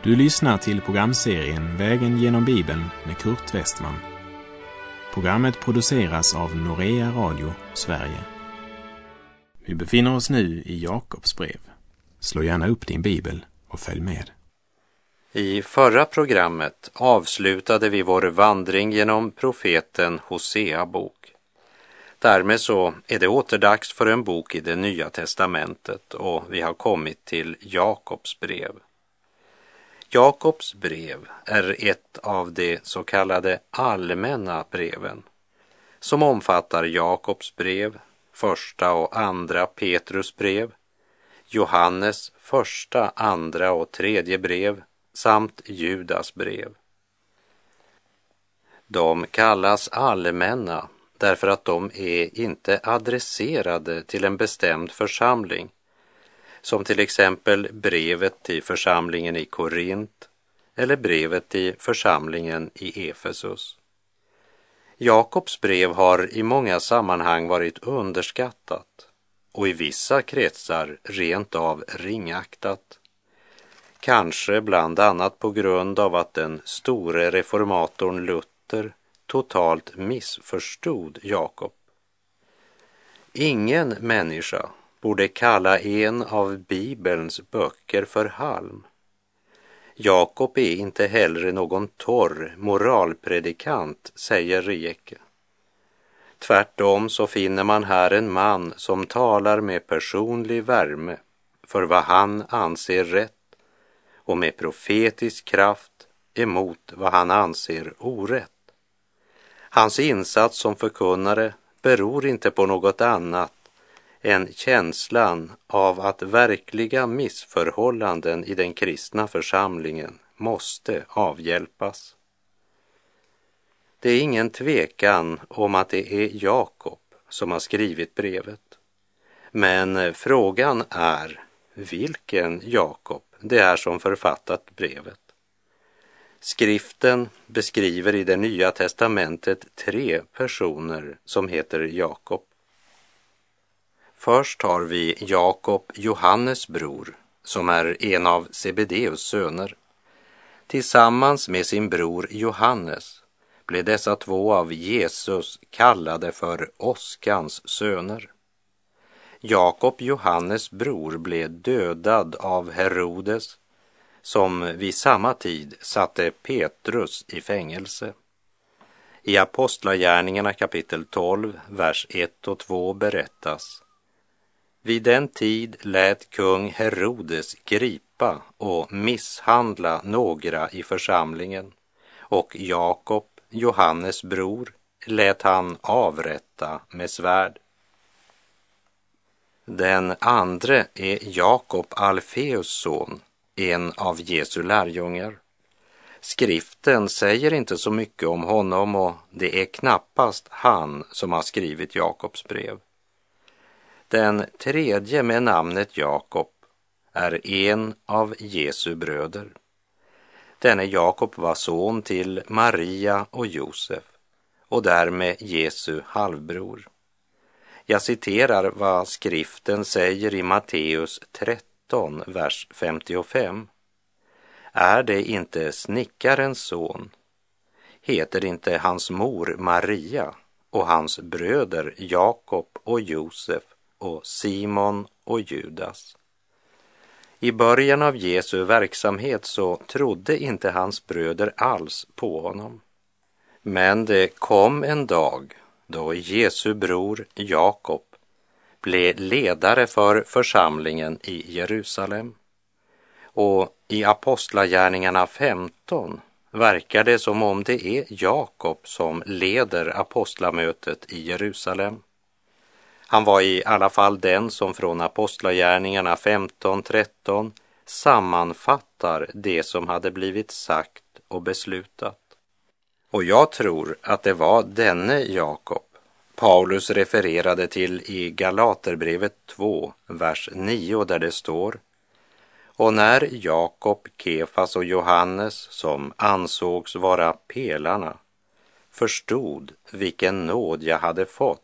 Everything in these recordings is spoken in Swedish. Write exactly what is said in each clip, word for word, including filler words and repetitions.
Du lyssnar till programserien Vägen genom Bibeln med Kurt Westman. Programmet produceras av Norea Radio, Sverige. Vi befinner oss nu i Jakobs brev. Slå gärna upp din bibel och följ med. I förra programmet avslutade vi vår vandring genom profeten Hosea bok. Därmed så är det återdags för en bok i det Nya testamentet och vi har kommit till Jakobs brev. Jakobs brev är ett av de så kallade allmänna breven som omfattar Jakobs brev, första och andra Petrus brev, Johannes första, andra och tredje brev samt Judas brev. De kallas allmänna därför att de är inte adresserade till en bestämd församling, som till exempel brevet till församlingen i Korint eller brevet till församlingen i Efesus. Jakobs brev har i många sammanhang varit underskattat och i vissa kretsar rent av ringaktat. Kanske bland annat på grund av att den store reformatorn Luther totalt missförstod Jakob. Ingen människa borde kalla en av Bibelns böcker för halm. Jakob är inte heller någon torr moralpredikant, säger Rieke. Tvärtom så finner man här en man som talar med personlig värme för vad han anser rätt och med profetisk kraft emot vad han anser orätt. Hans insats som förkunnare beror inte på något annat än känslan av att verkliga missförhållanden i den kristna församlingen måste avhjälpas. Det är ingen tvekan om att det är Jakob som har skrivit brevet. Men frågan är vilken Jakob det är som författat brevet. Skriften beskriver i det Nya testamentet tre personer som heter Jakob. Först har vi Jakob, Johannes bror, som är en av Zebedeus söner. Tillsammans med sin bror Johannes blev dessa två av Jesus kallade för åskans söner. Jakob, Johannes bror, blev dödad av Herodes, som vid samma tid satte Petrus i fängelse. I Apostlagärningarna kapitel tolv, vers ett och två berättas: vid den tid lät kung Herodes gripa och misshandla några i församlingen, och Jakob, Johannes bror, lät han avrätta med svärd. Den andra är Jakob, Alfeus son, en av Jesu lärjungar. Skriften säger inte så mycket om honom och det är knappast han som har skrivit Jakobs brev. Den tredje med namnet Jakob är en av Jesu bröder. Denne Jakob var son till Maria och Josef och därmed Jesu halvbror. Jag citerar vad skriften säger i Matteus tretton, vers femtiofem. Är det inte snickarens son? Heter inte hans mor Maria och hans bröder Jakob och Josef och Simon och Judas? I början av Jesu verksamhet så trodde inte hans bröder alls på honom. Men det kom en dag då Jesu bror Jakob blev ledare för församlingen i Jerusalem. Och i Apostlagärningarna femton verkar det som om det är Jakob som leder apostlamötet i Jerusalem. Han var i alla fall den som från Apostlagärningarna femton tretton sammanfattar det som hade blivit sagt och beslutat. Och jag tror att det var denne Jakob Paulus refererade till i Galaterbrevet två, vers nio, där det står: och när Jakob, Kefas och Johannes, som ansågs vara pelarna, förstod vilken nåd jag hade fått,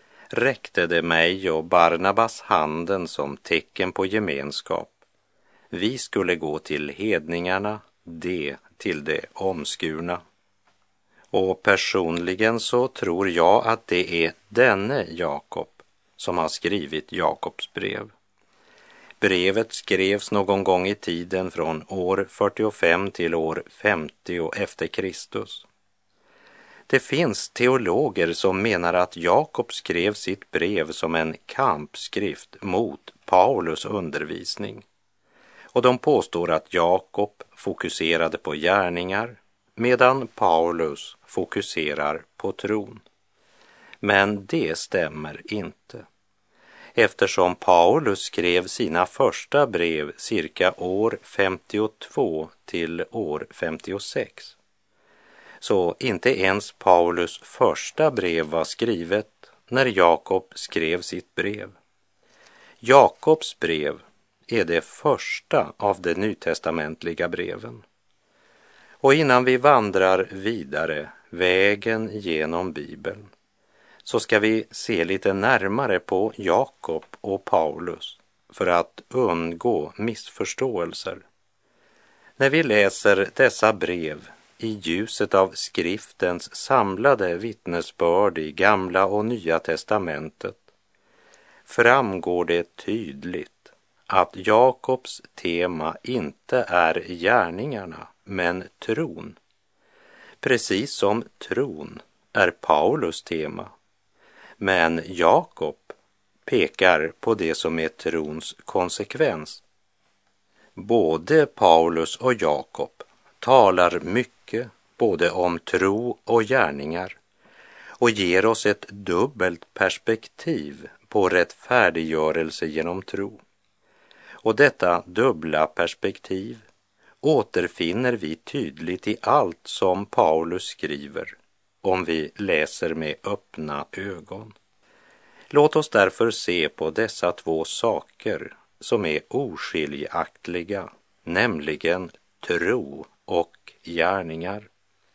räckte det mig och Barnabas handen som tecken på gemenskap, Vi skulle gå till hedningarna, det till det omskurna. Och personligen så tror jag att det är denne Jakob som har skrivit Jakobs brev. Brevet skrevs någon gång i tiden från år fyrtiofem till år femtio efter Kristus. Det finns teologer som menar att Jakob skrev sitt brev som en kampskrift mot Paulus undervisning. Och de påstår att Jakob fokuserade på gärningar medan Paulus fokuserar på tron. Men det stämmer inte. Eftersom Paulus skrev sina första brev cirka år femtiotvå till år femtiosex. Så inte ens Paulus första brev var skrivet när Jakob skrev sitt brev. Jakobs brev är det första av de nytestamentliga breven. Och innan vi vandrar vidare vägen genom Bibeln så ska vi se lite närmare på Jakob och Paulus för att undgå missförståelser. När vi läser dessa brev i ljuset av skriftens samlade vittnesbörd i Gamla och Nya testamentet framgår det tydligt att Jakobs tema inte är gärningarna men tron. Precis som tron är Paulus tema. Men Jakob pekar på det som är trons konsekvens. Både Paulus och Jakob talar mycket både om tro och gärningar och ger oss ett dubbelt perspektiv på rättfärdiggörelse genom tro. Och detta dubbla perspektiv återfinner vi tydligt i allt som Paulus skriver om vi läser med öppna ögon. Låt oss därför se på dessa två saker som är oskiljaktiga, nämligen tro och gärningar.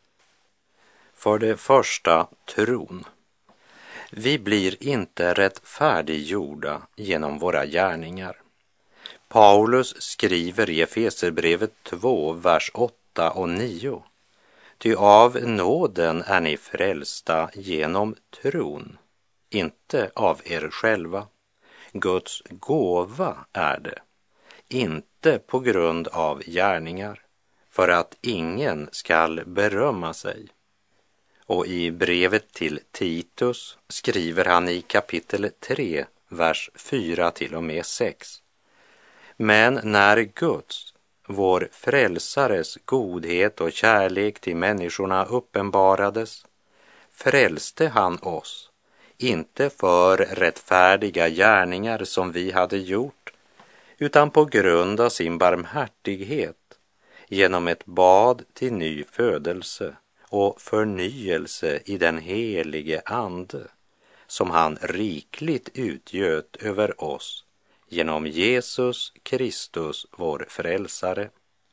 För det första, tron. Vi blir inte rättfärdiggjorda genom våra gärningar. Paulus skriver i Efeserbrevet två, vers åtta och nio. Ty av nåden är ni frälsta genom tron, inte av er själva. Guds gåva är det, inte på grund av gärningar, för att ingen skall berömma sig. Och i brevet till Titus skriver han i kapitel tre, vers fyra till och med sex. Men när Guds, vår frälsares godhet och kärlek till människorna uppenbarades, frälste han oss, inte för rättfärdiga gärningar som vi hade gjort, utan på grund av sin barmhärtighet, genom ett bad till ny födelse och förnyelse i den helige ande, som han rikligt utgöt över oss, genom Jesus Kristus, vår frälsare.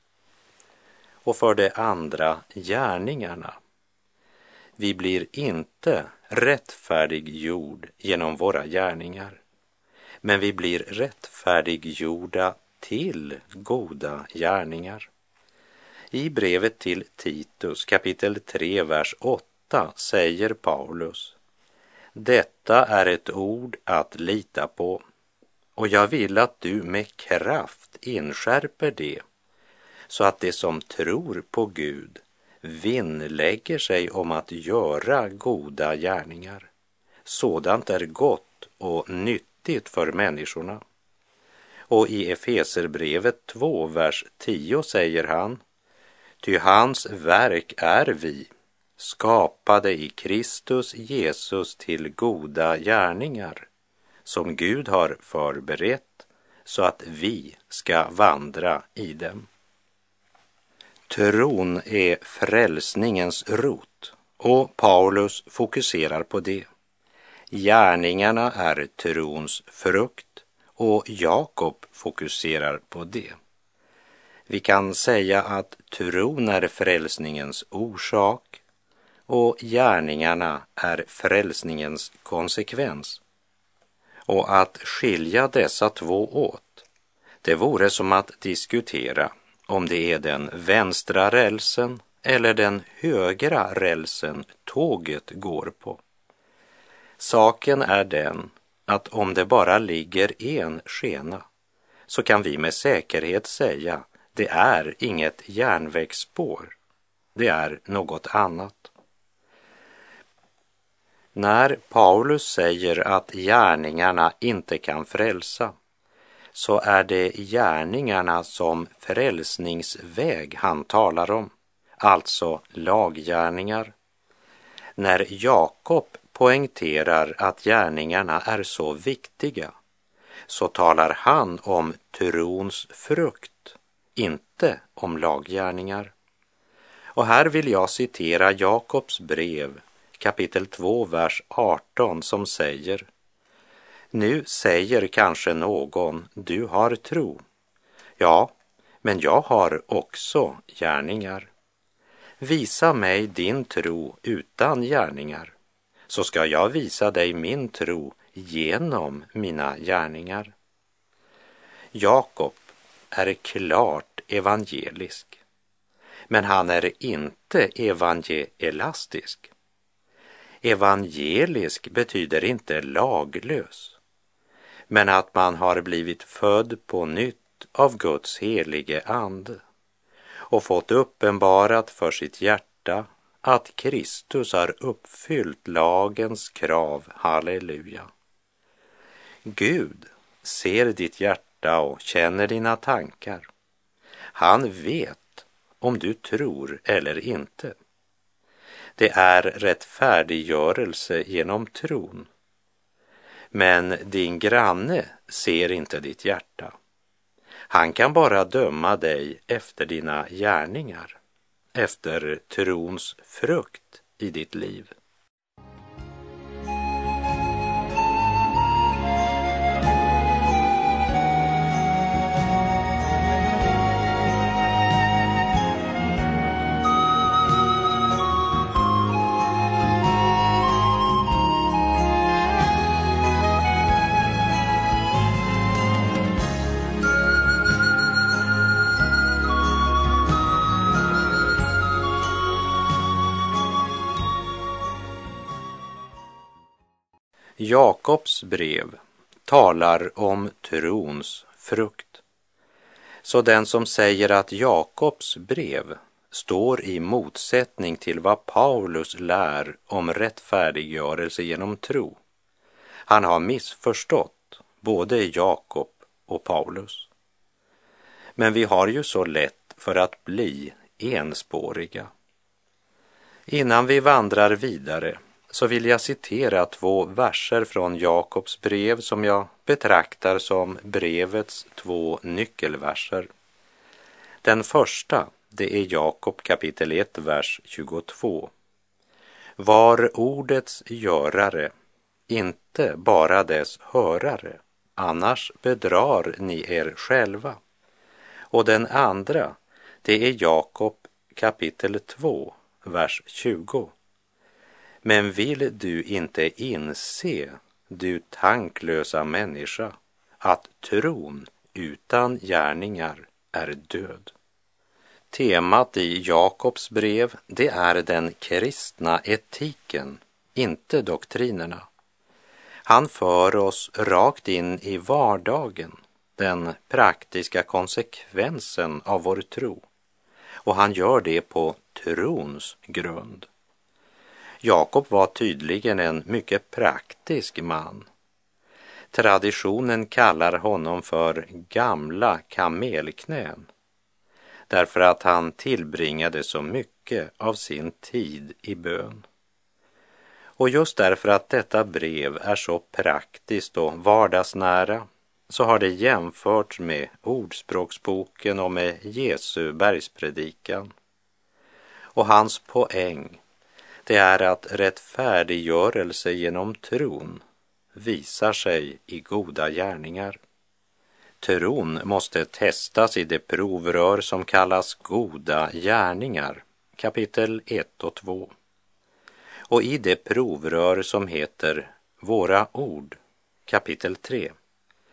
Och för det andra, gärningarna. Vi blir inte rättfärdiggjord genom våra gärningar, men vi blir rättfärdiggjorda till goda gärningar. I brevet till Titus kapitel tre, vers åtta säger Paulus: detta är ett ord att lita på, och jag vill att du med kraft inskärper det, så att det som tror på Gud vinnlägger sig om att göra goda gärningar. Sådant är gott och nyttigt för människorna. Och i Efeserbrevet två, vers tio säger han: ty hans verk är vi, skapade i Kristus Jesus till goda gärningar, som Gud har förberett så att vi ska vandra i dem. Tron är frälsningens rot, och Paulus fokuserar på det. Gärningarna är trons frukt, och Jakob fokuserar på det. Vi kan säga att tron är frälsningens orsak och gärningarna är frälsningens konsekvens. Och att skilja dessa två åt, Det vore som att diskutera om det är den vänstra rälsen eller den högra rälsen tåget går på. Saken är den att om det bara ligger en skena så kan vi med säkerhet säga det är inget järnvägsspår, det är något annat. När Paulus säger att gärningarna inte kan frälsa, så är det gärningarna som frälsningsväg han talar om, alltså laggärningar. När Jakob poängterar att gärningarna är så viktiga, så talar han om trons frukt, inte om laggärningar. Och här vill jag citera Jakobs brev, kapitel två, vers arton, som säger: Nu säger kanske någon, du har tro. Ja, men jag har också gärningar. Visa mig din tro utan gärningar, så ska jag visa dig min tro genom mina gärningar. Jakob är klart evangelisk, men han är inte evangelastisk. Evangelisk betyder inte laglös, men att man har blivit född på nytt av Guds helige ande och fått uppenbarat för sitt hjärta att Kristus har uppfyllt lagens krav. Halleluja. Gud ser ditt hjärta och känner dina tankar. Han vet om du tror eller inte. Det är rättfärdiggörelse genom tron. Men din granne ser inte ditt hjärta. Han kan bara döma dig efter dina gärningar, efter trons frukt i ditt liv. Jakobs brev talar om trons frukt. Så den som säger att Jakobs brev står i motsättning till vad Paulus lär om rättfärdiggörelse genom tro, han har missförstått både Jakob och Paulus. Men vi har ju så lätt för att bli enspåriga. Innan vi vandrar vidare så vill jag citera två verser från Jakobs brev som jag betraktar som brevets två nyckelverser. Den första, det är Jakob kapitel ett, vers tjugotvå. Var ordets görare, inte bara dess hörare, annars bedrar ni er själva. Och den andra, det är Jakob kapitel två, vers tjugo. Men vill du inte inse, du tanklösa människa, att tron utan gärningar är död? Temat i Jakobs brev, det är den kristna etiken, inte doktrinerna. Han för oss rakt in i vardagen, den praktiska konsekvensen av vår tro. Och han gör det på trons grund. Jakob var tydligen en mycket praktisk man. Traditionen kallar honom för gamla kamelknän, därför att han tillbringade så mycket av sin tid i bön. Och just därför att detta brev är så praktiskt och vardagsnära, så har det jämförts med Ordspråksboken och med Jesu bergspredikan. Och hans poäng, det är att rättfärdiggörelse genom tron visar sig i goda gärningar. Tron måste testas i det provrör som kallas goda gärningar, kapitel ett och två. Och i det provrör som heter våra ord, kapitel tre.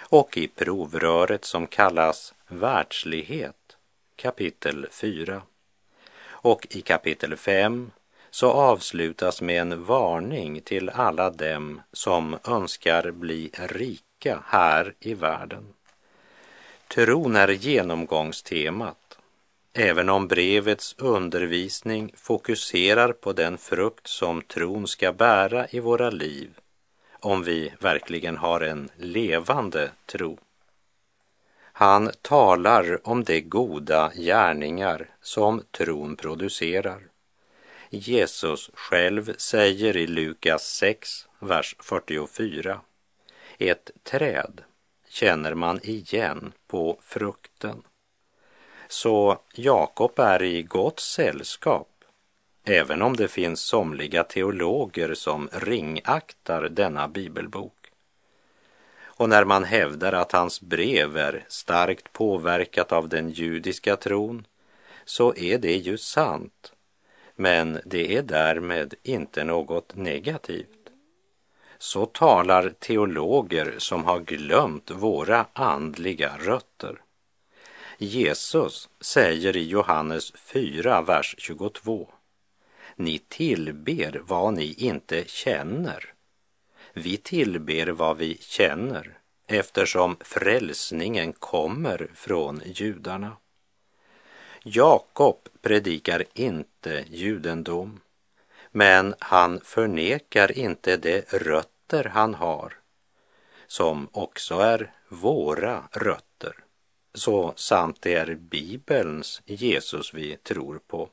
och i provröret som kallas världslighet, kapitel fyra. Och i kapitel fem så avslutas med en varning till alla dem som önskar bli rika här i världen. Tron är genomgångstemat, även om brevets undervisning fokuserar på den frukt som tron ska bära i våra liv, om vi verkligen har en levande tro. Han talar om de goda gärningar som tron producerar. Jesus själv säger i Lukas sex, vers fyrtiofyra, ett träd känner man igen på frukten. Så Jakob är i gott sällskap, även om det finns somliga teologer som ringaktar denna bibelbok. Och när man hävdar att hans brev är starkt påverkat av den judiska tron, så är det ju sant, men det är därmed inte något negativt. Så talar teologer som har glömt våra andliga rötter. Jesus säger i Johannes fyra, vers tjugotvå, ni tillber vad ni inte känner. Vi tillber vad vi känner, eftersom frälsningen kommer från judarna. Jakob predikar inte judendom, men han förnekar inte de rötter han har, som också är våra rötter. Så sant det är Bibelns Jesus vi tror på.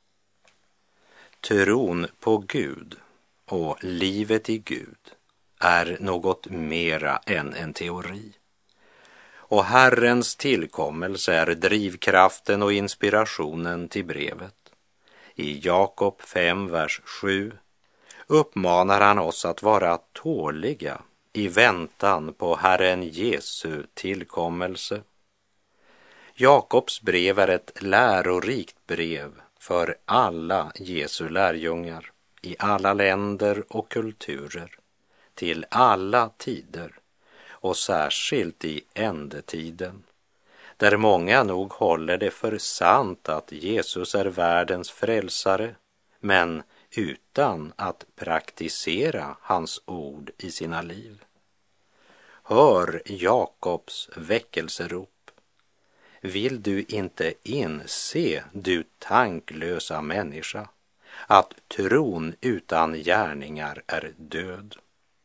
Tron på Gud och livet i Gud är något mera än en teori. Och Herrens tillkommelse är drivkraften och inspirationen till brevet. I Jakob fem, vers sju uppmanar han oss att vara tåliga i väntan på Herren Jesu tillkommelse. Jakobs brev är ett lärorikt brev för alla Jesu lärjungar i alla länder och kulturer, till alla tider och särskilt i ändetiden, där många nog håller det för sant att Jesus är världens frälsare, men utan att praktisera hans ord i sina liv. Hör Jakobs väckelserop. Vill du inte inse, du tanklösa människa, att tron utan gärningar är död?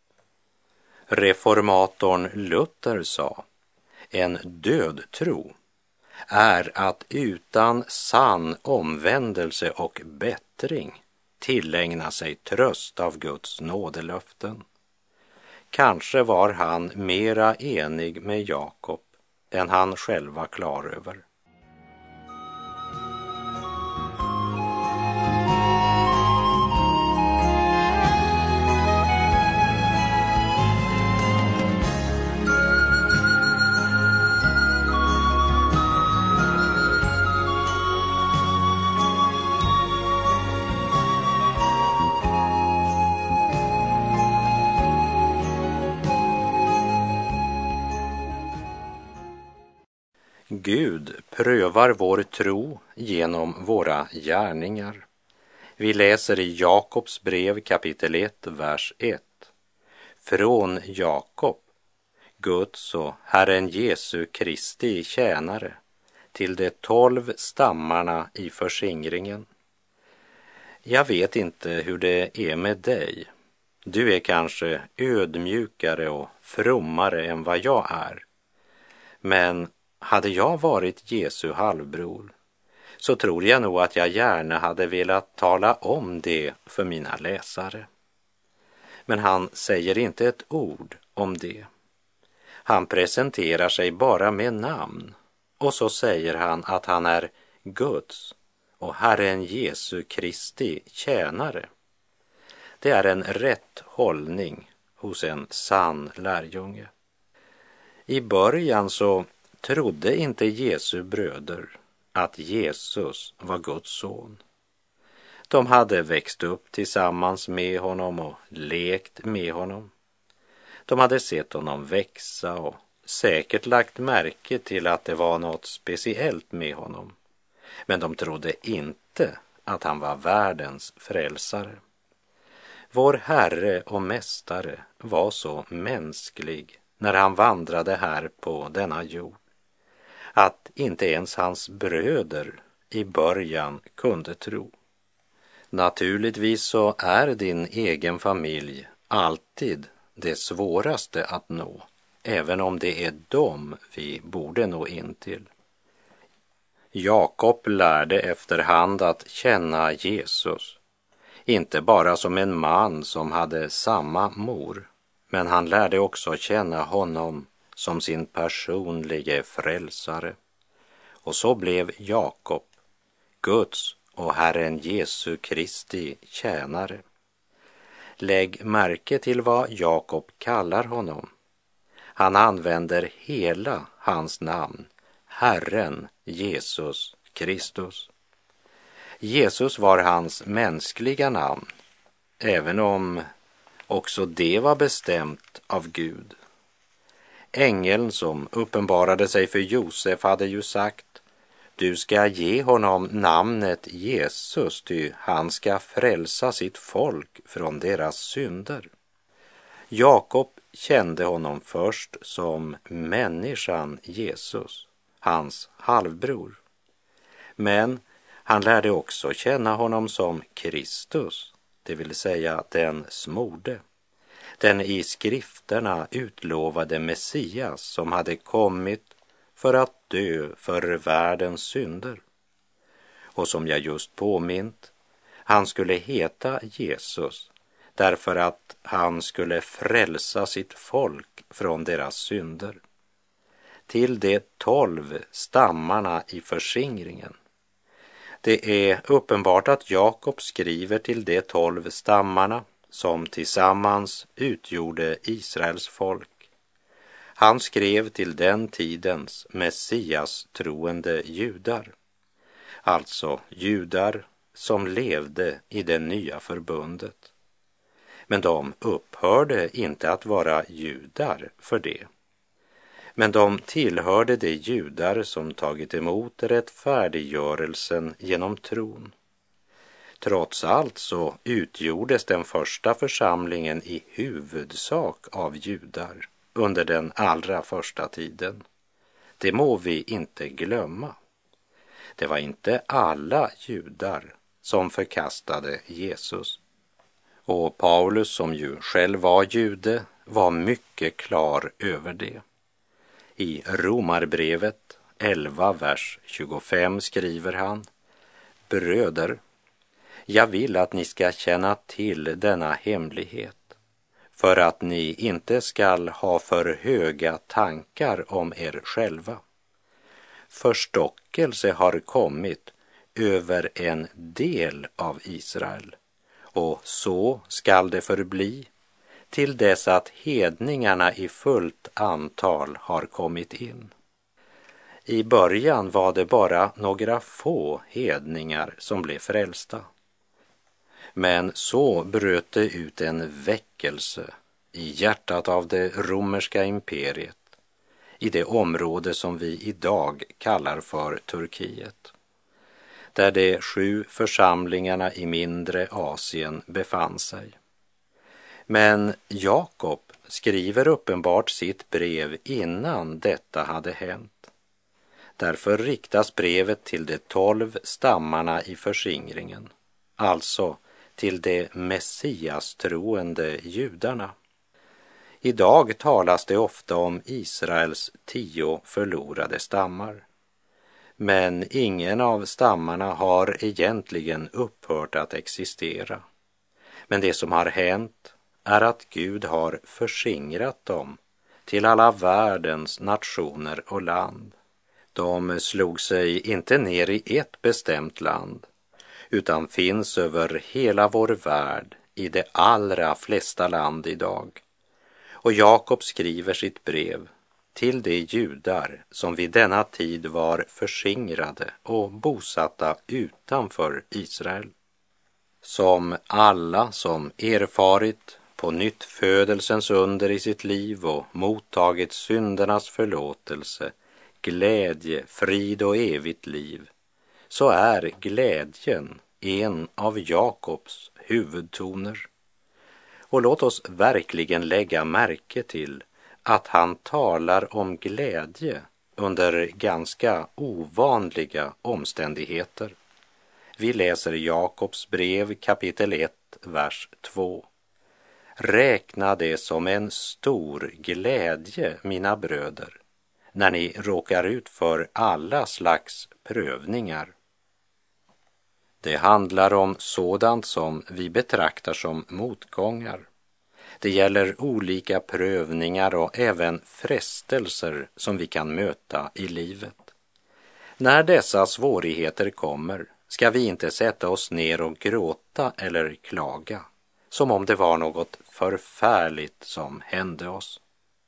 Reformatorn Luther sa, en död tro är att utan sann omvändelse och bättring tillägna sig tröst av Guds nådelöften. Kanske var han mera enig med Jakob än han själv var klar över. Gud prövar vår tro genom våra gärningar. Vi läser i Jakobs brev kapitel ett, vers ett. Från Jakob, Guds och Herren Jesu Kristi tjänare, till de tolv stammarna i förskingringen. Jag vet inte hur det är med dig. Du är kanske ödmjukare och frommare än vad jag är. Men hade jag varit Jesu halvbror, så tror jag nog att jag gärna hade velat tala om det för mina läsare. Men han säger inte ett ord om det. Han presenterar sig bara med namn, och så säger han att han är Guds och Herren Jesu Kristi tjänare. Det är en rätt hållning hos en sann lärjunge. I början så trodde inte Jesu bröder att Jesus var Guds son. De hade växt upp tillsammans med honom och lekt med honom. De hade sett honom växa och säkert lagt märke till att det var något speciellt med honom, men de trodde inte att han var världens frälsare. Vår Herre och Mästare var så mänsklig när han vandrade här på denna jord att inte ens hans bröder i början kunde tro. Naturligtvis så är din egen familj alltid det svåraste att nå, även om det är dem vi borde nå in till. Jakob lärde efterhand att känna Jesus, inte bara som en man som hade samma mor, men han lärde också känna honom som sin personlige frälsare. Och så blev Jakob Guds och Herren Jesu Kristi tjänare. Lägg märke till vad Jakob kallar honom. Han använder hela hans namn, Herren Jesus Kristus. Jesus var hans mänskliga namn, även om också det var bestämt av Gud. Ängeln som uppenbarade sig för Josef hade ju sagt: du ska ge honom namnet Jesus, ty han ska frälsa sitt folk från deras synder. Jakob kände honom först som människan Jesus, hans halvbror. Men han lärde också känna honom som Kristus, det vill säga den smorde, den i skrifterna utlovade Messias som hade kommit för att dö för världens synder. Och som jag just påmint, han skulle heta Jesus därför att han skulle frälsa sitt folk från deras synder. Till de tolv stammarna i förskingringen. Det är uppenbart att Jakob skriver till de tolv stammarna som tillsammans utgjorde Israels folk. Han skrev till den tidens Messias troende judar, alltså judar som levde i det nya förbundet. Men de upphörde inte att vara judar för det. Men de tillhörde de judar som tagit emot rättfärdiggörelsen genom tron. Trots allt så utgjordes den första församlingen i huvudsak av judar under den allra första tiden. Det må vi inte glömma. Det var inte alla judar som förkastade Jesus. Och Paulus, som ju själv var jude, var mycket klar över det. I Romarbrevet elva, vers tjugofem skriver han: bröder, jag vill att ni ska känna till denna hemlighet, för att ni inte skall ha för höga tankar om er själva. Förstockelse har kommit över en del av Israel, och så skall det förbli till dess att hedningarna i fullt antal har kommit in. I början var det bara några få hedningar som blev frälsta. Men så bröt det ut en väckelse i hjärtat av det romerska imperiet, i det område som vi idag kallar för Turkiet, där de sju församlingarna i mindre Asien befann sig. Men Jakob skriver uppenbart sitt brev innan detta hade hänt. Därför riktas brevet till de tolv stammarna i förskingringen, alltså till de messiastroende judarna. Idag talas det ofta om Israels tio förlorade stammar. Men ingen av stammarna har egentligen upphört att existera. Men det som har hänt är att Gud har förskingrat dem till alla världens nationer och land. De slog sig inte ner i ett bestämt land, utan finns över hela vår värld i de allra flesta land idag. Och Jakob skriver sitt brev till de judar som vid denna tid var förskingrade och bosatta utanför Israel, som alla som erfarit på nytt födelsens under i sitt liv och mottagit syndernas förlåtelse, glädje, frid och evigt liv, så är glädjen en av Jakobs huvudtoner. Och låt oss verkligen lägga märke till att han talar om glädje under ganska ovanliga omständigheter. Vi läser Jakobs brev kapitel ett, vers två. Räkna det som en stor glädje, mina bröder, när ni råkar ut för alla slags prövningar. Det handlar om sådant som vi betraktar som motgångar. Det gäller olika prövningar och även frestelser som vi kan möta i livet. När dessa svårigheter kommer ska vi inte sätta oss ner och gråta eller klaga, som om det var något förfärligt som hände oss.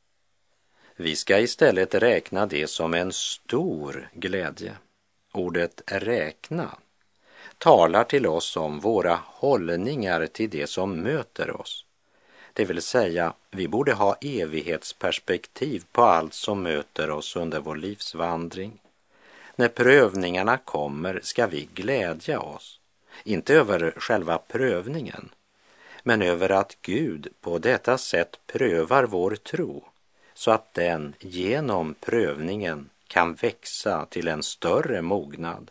Vi ska istället räkna det som en stor glädje. Ordet räkna talar till oss om våra hållningar till det som möter oss. Det vill säga, vi borde ha evighetsperspektiv på allt som möter oss under vår livsvandring. När prövningarna kommer ska vi glädja oss, inte över själva prövningen, men över att Gud på detta sätt prövar vår tro, så att den genom prövningen kan växa till en större mognad.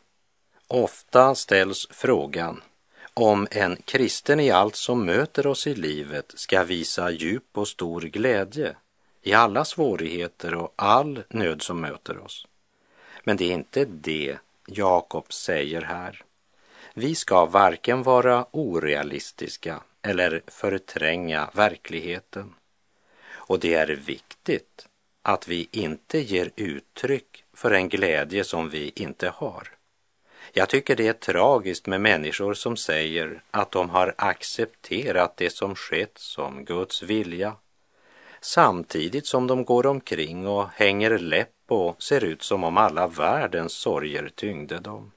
Ofta ställs frågan om en kristen i allt som möter oss i livet ska visa djup och stor glädje i alla svårigheter och all nöd som möter oss. Men det är inte det Jakob säger här. Vi ska varken vara orealistiska eller förtränga verkligheten. Och det är viktigt att vi inte ger uttryck för en glädje som vi inte har. Jag tycker det är tragiskt med människor som säger att de har accepterat det som skett som Guds vilja, samtidigt som de går omkring och hänger läpp och ser ut som om alla världens sorger tyngde dem.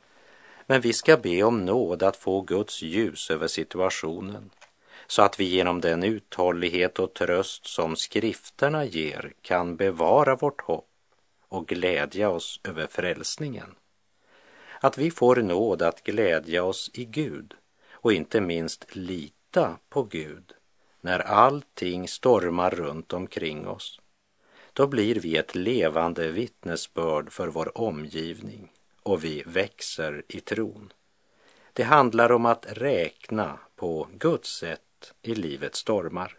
Men vi ska be om nåd att få Guds ljus över situationen, så att vi genom den uthållighet och tröst som skrifterna ger kan bevara vårt hopp och glädja oss över frälsningen. Att vi får nåd att glädja oss i Gud och inte minst lita på Gud när allting stormar runt omkring oss. Då blir vi ett levande vittnesbörd för vår omgivning och vi växer i tron. Det handlar om att räkna på Guds sätt i livets stormar.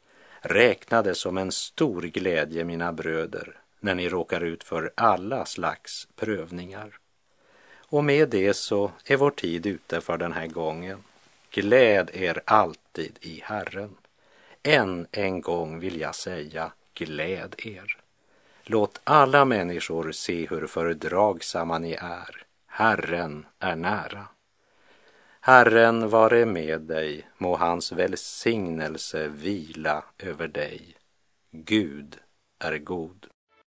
Räkna det som en stor glädje, mina bröder, när ni råkar ut för alla slags prövningar. Och med det så är vår tid ute för den här gången. Gläd er alltid i Herren. Än en gång vill jag säga, gläd er. Låt alla människor se hur fördragsamma ni är. Herren är nära. Herren vare med dig, må hans välsignelse vila över dig. Gud är god.